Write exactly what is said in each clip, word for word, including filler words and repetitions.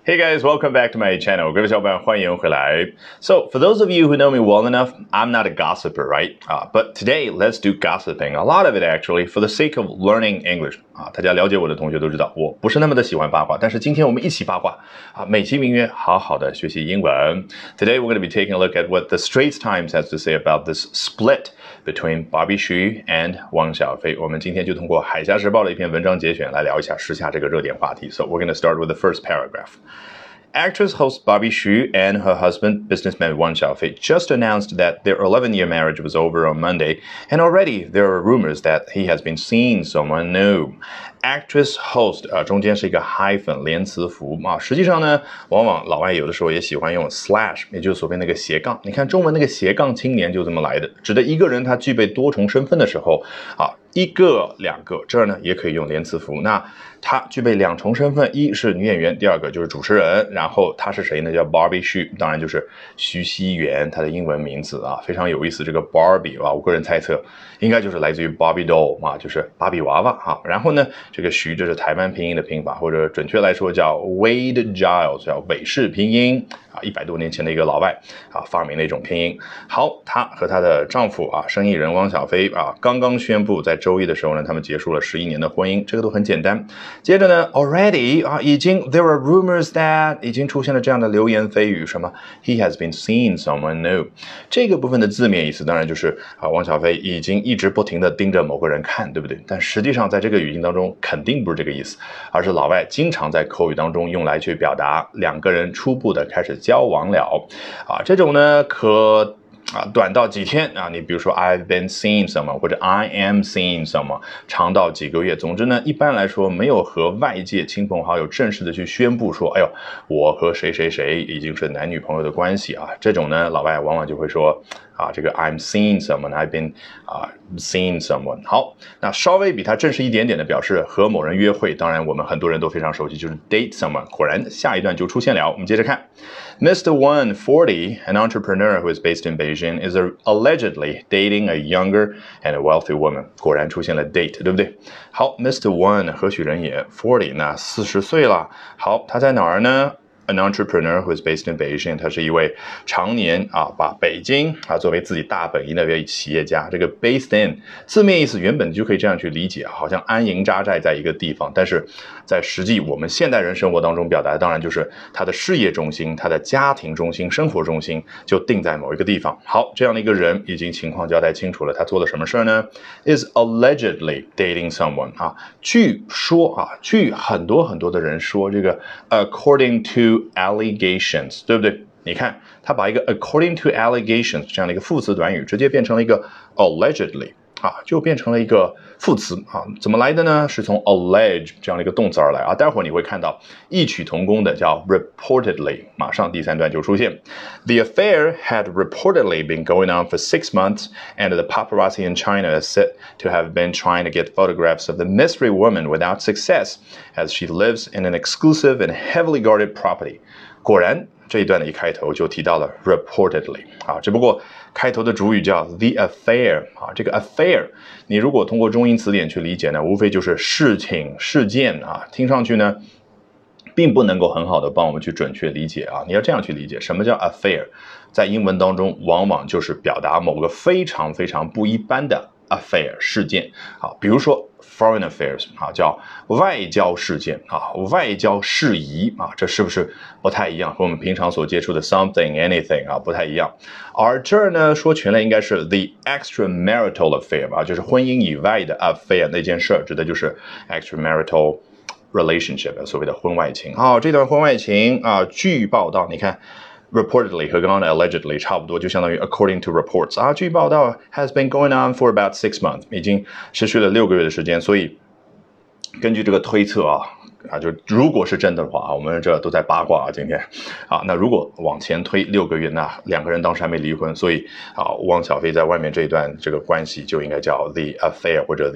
Hey guys, welcome back to my channel. 各位小伙伴，欢迎回来。So, for those of you who know me well enough, I'm not a gossiper, right? Uh, but today, let's do gossiping. A lot of it actually, for the sake of learning English. 啊，大家了解我的同学都知道，我不是那么的喜欢八卦，但是今天我们一起八卦啊，美其名曰好好的学习英文。Today, we're going to be taking a look at what the Straits Times has to say about this split between Bobby Xu and 汪小菲。我们今天就通过海峡时报的一篇文章节选来聊一下时下这个热点话题。So, we're going to start with the first paragraph.Actress host Bobby Xu and her husband, businessman Wang Xiaofei, just announced that their eleven-year marriage was over on Monday, and already there are rumors that he has been seeing someone new. Actress host 啊、呃，中间是一个 hyphen 连词符啊，实际上呢，往往老外有的时候也喜欢用 slash， 也就是所谓那个斜杠。你看中文那个斜杠青年就这么来的，指的一个人他具备多重身份的时候啊，一个、两个，这儿呢也可以用连词符。那他具备两重身份，一是女演员，第二个就是主持人。然后他是谁呢？叫 Barbie Xu， 当然就是徐熙媛，她的英文名字啊，非常有意思。这个 Barbie 啊，我个人猜测应该就是来自于 Barbie doll 啊，就是芭比娃娃啊。然后呢，这个徐这是台湾拼音的拼法，或者准确来说叫 Wade Giles， 叫韦氏拼音啊，一百多年前的一个老外啊发明的一种拼音。好，她和她的丈夫啊，生意人汪小菲啊，刚刚宣布在周一的时候呢，他们结束了十一年的婚姻，这个都很简单。接着呢 ，already 啊，已经 there are rumors that 已经出现了这样的流言蜚语，什么 he has been seeing someone new。这个部分的字面意思当然就是啊，汪小菲已经一直不停的盯着某个人看，对不对？但实际上在这个语境当中肯定不是这个意思，而是老外经常在口语当中用来去表达两个人初步的开始交往了啊，这种呢可。啊，短到几天啊，你比如说 I've been seeing someone 或者 I am seeing someone， 长到几个月。总之呢，一般来说没有和外界亲朋好友正式的去宣布说，哎呦，我和谁谁谁已经是男女朋友的关系啊。这种呢，老外往往就会说啊，这个 I'm seeing someone，I've been 啊 seeing someone。好，那稍微比它正式一点点的表示和某人约会，当然我们很多人都非常熟悉，就是 date someone。果然下一段就出现了，我们接着看 ，Mister Wen forty, an entrepreneur who is based in Beijing, is allegedly dating a younger and a wealthy woman。果然出现了 date， 对不对？好 ，Mister Wen 何许人也 ？forty， 那四十岁了。好，他在哪儿呢？An entrepreneur who is based in Beijing， 他是一位常年啊把北京啊作为自己大本营的一位企业家。这个 based in 字面意思原本就可以这样去理解，好像安营扎寨在一个地方，但是在实际我们现代人生活当中表达的当然就是他的事业中心、他的家庭中心、生活中心就定在某一个地方。好，这样的一个人已经情况交代清楚了，他做了什么事呢 ？Is allegedly dating someone 啊，据说啊，据很多很多的人说，这个 according to。allegations， 对不对？你看，他把一个 according to allegations 这样的一个副词短语，直接变成了一个 allegedly 啊，就变成了一个副词啊。怎么来的呢？是从 allege 这样的一个动词而来啊。待会儿你会看到异曲同工的叫 reportedly， 马上第三段就出现。The affair had reportedly been going on for six months, and the paparazzi in China is said to have been trying to get photographs of the mystery woman without success, as she lives in an exclusive and heavily guarded property. 果然，这一段的一开头就提到了 reportedly 啊，只不过开头的主语叫 the affair 啊，这个 affair 你如果通过中英词典去理解呢，无非就是事情、事件啊，听上去呢，并不能够很好的帮我们去准确理解啊。你要这样去理解，什么叫 affair？ 在英文当中，往往就是表达某个非常非常不一般的 affair 事件啊，比如说 foreign affairs 啊，叫外交事件啊，外交事宜啊，这是不是不太一样？和我们平常所接触的 something anything 啊不太一样。而这儿呢，说全了应该是 the extramarital affair 啊，就是婚姻以外的 affair 那件事儿，指的就是 extramarital relationship 所谓的婚外情。好，这段婚外情啊，据报道，你看。Reportedly 和刚刚的 allegedly 差不多，就相当于 according to reports 啊，据报道 has been going on for about six months， 已经持续了六个月的时间，所以根据这个推测啊啊，就如果是真的话啊，我们这都在八卦啊，今天啊，那如果往前推六个月，那两个人当时还没离婚，所以啊，汪小菲在外面这一段这个关系就应该叫 the affair 或者 the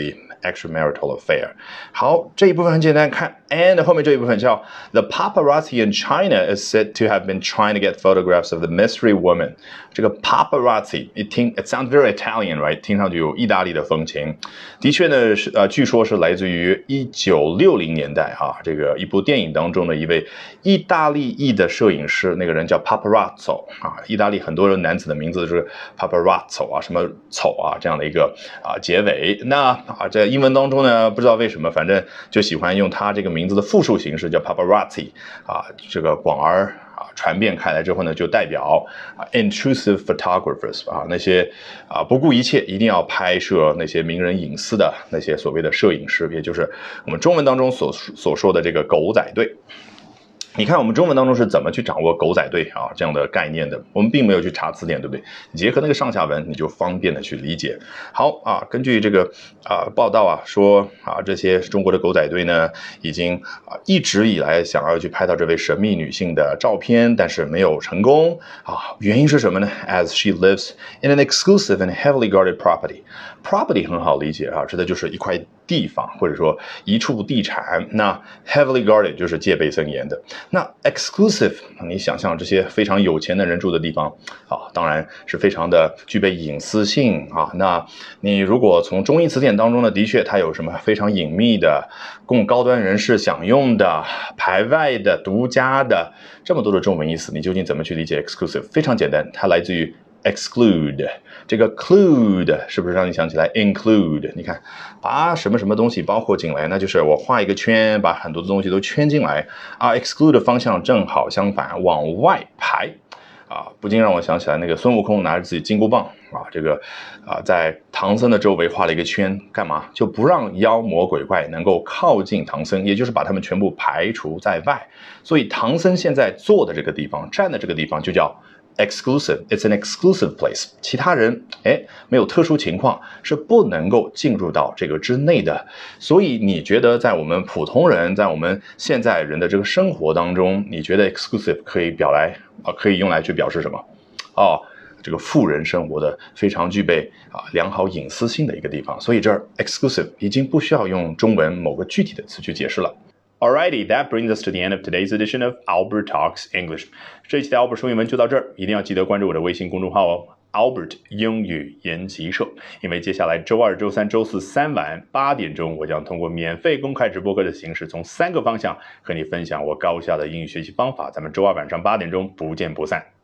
extramarital affair。好，这一部分很简单，看 and 后面这一部分叫 The paparazzi in China is said to have been trying to get photographs of the mystery woman。这个 paparazzi 一听 it sounds very Italian, right？ 听上去有意大利的风情。的确呢，是呃，据说是来自于一九六零年代哈、啊，这个一部电影当中的一位意大利裔的摄影师，那个人叫 paparazzo 啊，意大利很多人男子的名字是 paparazzo 啊，什么丑啊这样的一个啊结尾。那啊，在英文当中呢，不知道为什么，反正就喜欢用他这个名字的复数形式叫 paparazzi 啊，这个广而。啊，传遍开来之后呢，就代表啊 intrusive photographers 啊，那些啊不顾一切一定要拍摄那些名人隐私的那些所谓的摄影师，也就是我们中文当中所所说的这个狗仔队。你看我们中文当中是怎么去掌握狗仔队啊这样的概念的？我们并没有去查词典，对不对？结合那个上下文，你就方便的去理解。好啊，根据这个啊报道啊说啊，这些中国的狗仔队呢，已经啊一直以来想要去拍到这位神秘女性的照片，但是没有成功啊。原因是什么呢 ？As she lives in an exclusive and heavily guarded property。Property 很好理解啊，指的就是一块地方或者说一处地产。那 heavily guarded 就是戒备森严的。那 exclusive 你想象这些非常有钱的人住的地方啊，当然是非常的具备隐私性啊。那你如果从中英词典当中呢，的确它有什么非常隐秘的供高端人士享用的排外的独家的这么多的中文意思，你究竟怎么去理解 exclusive？ 非常简单，它来自于exclude， 这个 clude 是不是让你想起来 include？ 你看，把什么什么东西包括进来，那就是我画一个圈，把很多的东西都圈进来啊。exclude 的方向正好相反，往外排啊，不禁让我想起来那个孙悟空拿着自己金箍棒啊，这个啊在唐僧的周围画了一个圈，干嘛？就不让妖魔鬼怪能够靠近唐僧，也就是把他们全部排除在外。所以唐僧现在坐的这个地方，站的这个地方就叫exclusive, it's an exclusive place。其他人，哎，没有特殊情况是不能够进入到这个之内的。所以你觉得在我们普通人，在我们现在人的这个生活当中，你觉得 exclusive 可以表来啊，可以用来去表示什么？哦，这个富人生活的非常具备啊良好隐私性的一个地方。所以这儿 exclusive 已经不需要用中文某个具体的词去解释了。Alrighty, that brings us to the end of today's edition of Albert Talks English. 这一期的 Albert 说英文就到这儿，一定要记得关注我的微信公众号哦 ，Albert 英语研习社。因为接下来周二、周三、周四三晚八点钟，我将通过免费公开直播课的形式，从三个方向和你分享我高效的英语学习方法。咱们周二晚上八点钟不见不散。